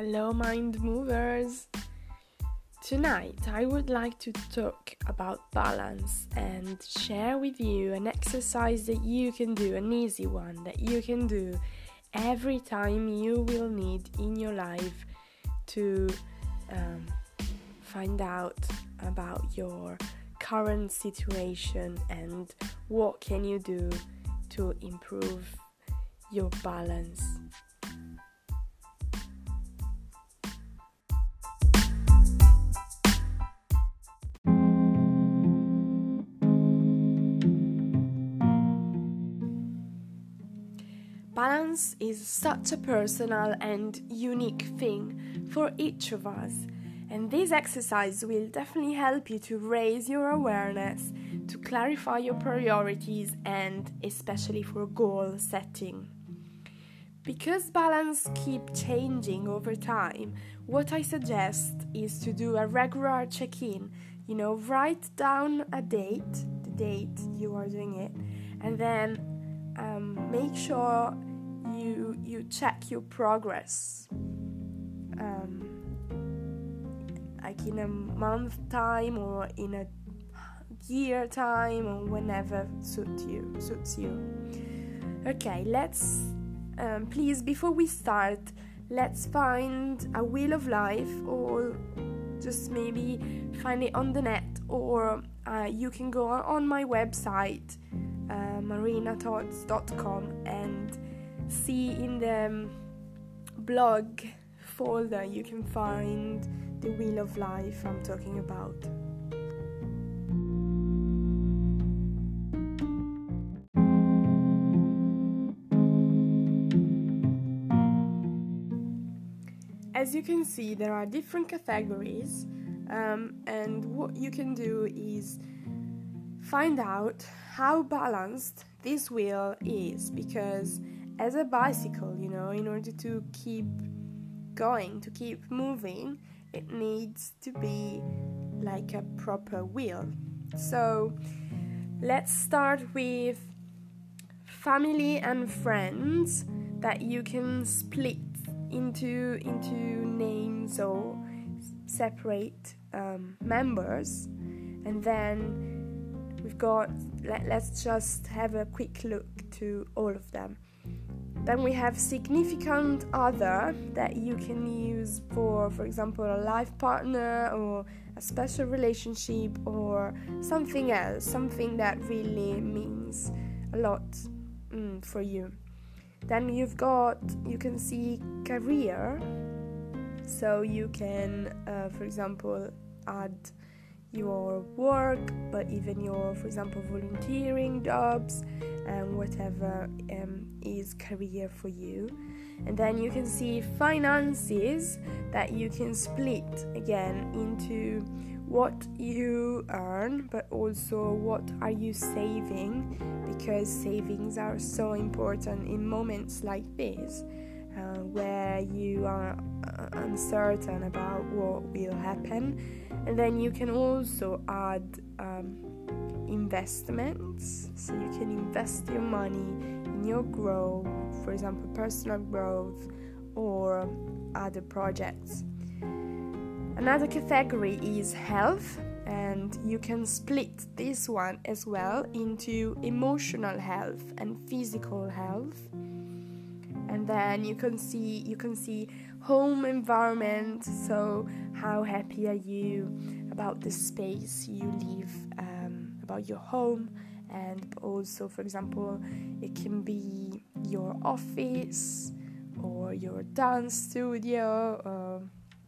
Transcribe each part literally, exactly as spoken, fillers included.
Hello, mind movers! Tonight I would like to talk about balance and share with you an exercise that you can do, an easy one that you can do every time you will need in your life to um, find out about your current situation and what can you do to improve your balance. Balance is such a personal and unique thing for each of us, and this exercise will definitely help you to raise your awareness, to clarify your priorities, and especially for goal setting. Because balance keeps changing over time, what I suggest is to do a regular check-in. You know, write down a date, the date you are doing it, and then um, make sure you you check your progress. Um, like in a month time or in a year time or whenever suits you. Suits you. Okay, let's. Um, please, before we start, let's find a wheel of life, or just maybe find it on the net, or uh, you can go on my website, uh, marina thoughts dot com, and see in the um, blog folder you can find the wheel of life I'm talking about. As you can see, there are different categories, um, and what you can do is find out how balanced this wheel is, because as a bicycle, you know, in order to keep going, to keep moving, it needs to be like a proper wheel. So let's start with family and friends that you can split into into names or separate um, members, and then we've got let, let's just have a quick look to all of them. Then we have significant other that you can use for for example a life partner or a special relationship or something else, something that really means a lot mm, for you. Then you've got, you can see career, so you can, uh, for example, add your work, but even your, for example, volunteering jobs, and whatever um, is career for you. And then you can see finances that you can split again into what you earn, but also what are you saving, because savings are so important in moments like this, uh, where you are uh, uncertain about what will happen. And then you can also add um, investments, so you can invest your money in your growth, for example, personal growth or other projects. Another category is health, and you can split this one as well into emotional health and physical health. And then you can see you can see home environment, so how happy are you about the space you live, um, about your home, and also, for example, it can be your office or your dance studio, or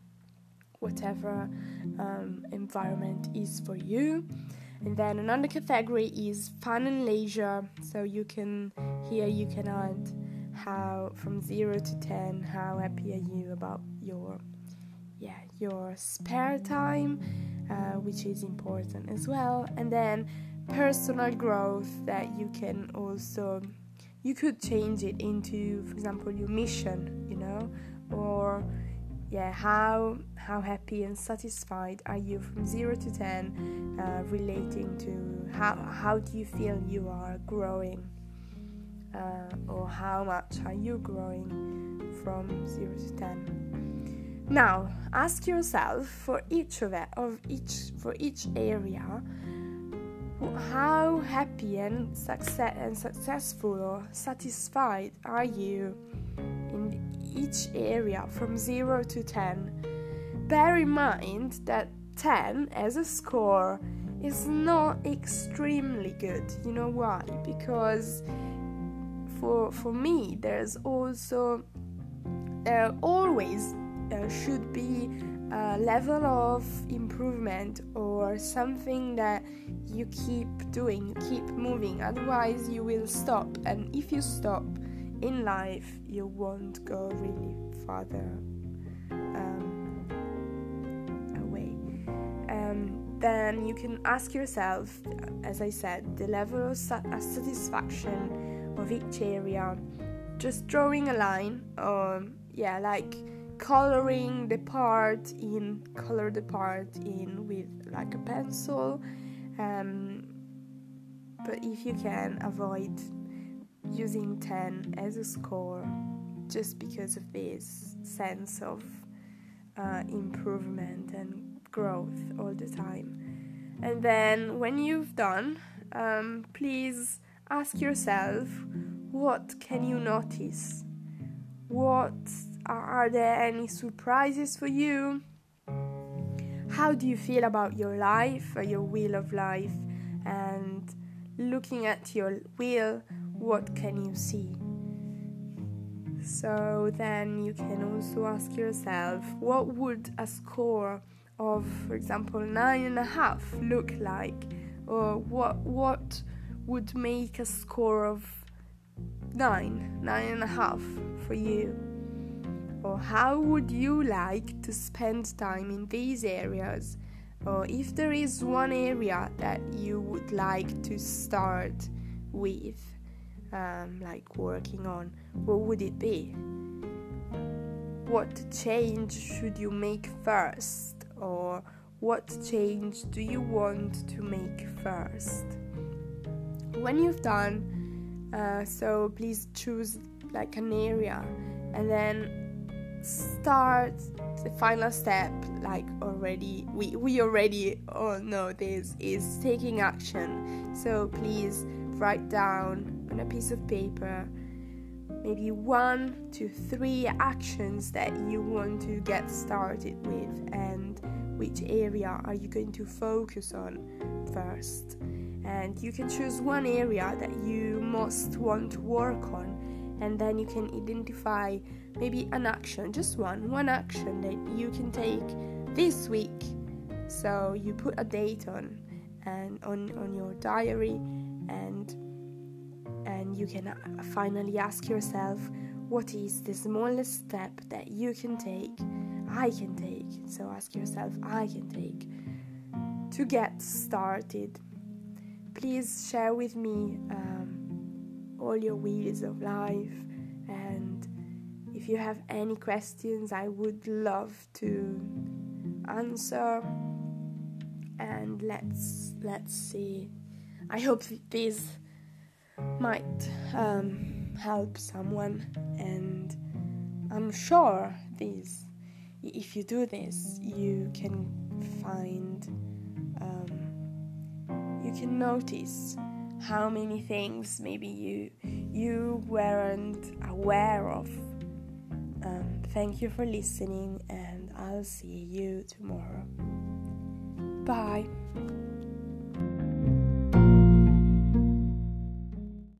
whatever um, environment is for you. And then another category is fun and leisure, so you can here you can add how from zero to ten, how happy are you about your yeah your spare time, uh, which is important as well. And then personal growth, that you can also you could change it into, for example, your mission, you know, or yeah how how happy and satisfied are you from zero to ten, uh, relating to how how do you feel you are growing, uh, or how much are you growing from zero to ten. Now, ask yourself for each of it, of each for each area, how happy and success and successful or satisfied are you in each area from zero to ten. Bear in mind that ten as a score is not extremely good. You know why? Because for for me, there's also there always uh, should be a level of improvement or something that you keep doing, you keep moving. Otherwise, you will stop, and if you stop in life, you won't go really farther um, away. Um, then you can ask yourself, as I said, the level of sa- satisfaction of each area. Just drawing a line, or yeah, like coloring the part in, color the part in with like a pencil. Um, but if you can, avoid using ten as a score, just because of this sense of uh, improvement and growth all the time. And then when you've done, um, please ask yourself, what can you notice? What are there any surprises for you? How do you feel about your life or your wheel of life? And looking at your wheel, what can you see? So then you can also ask yourself, what would a score of, for example, nine and a half look like? Or what what would make a score of nine, nine and a half for you? Or how would you like to spend time in these areas? Or if there is one area that you would like to start with, um, like working on, what would it be? What change should you make first? Or what change do you want to make first? When you've done, uh, so please choose like an area, and then start the final step. Like already we we already all know this is taking action. So please write down on a piece of paper maybe one to three actions that you want to get started with, and which area are you going to focus on first. And you can choose one area that you most want to work on, and then you can identify maybe an action, just one, one action that you can take this week. So you put a date on and on, on your diary, and and you can finally ask yourself, what is the smallest step that you can take, I can take. So ask yourself, I can take to get started. Please share with me um, all your wheels of life, and if you have any questions, I would love to answer. And let's let's see. I hope this might um, help someone, and I'm sure this. If you do this, you can find. Um, you can notice how many things maybe you you weren't aware of. Um, thank you for listening, and I'll see you tomorrow. Bye.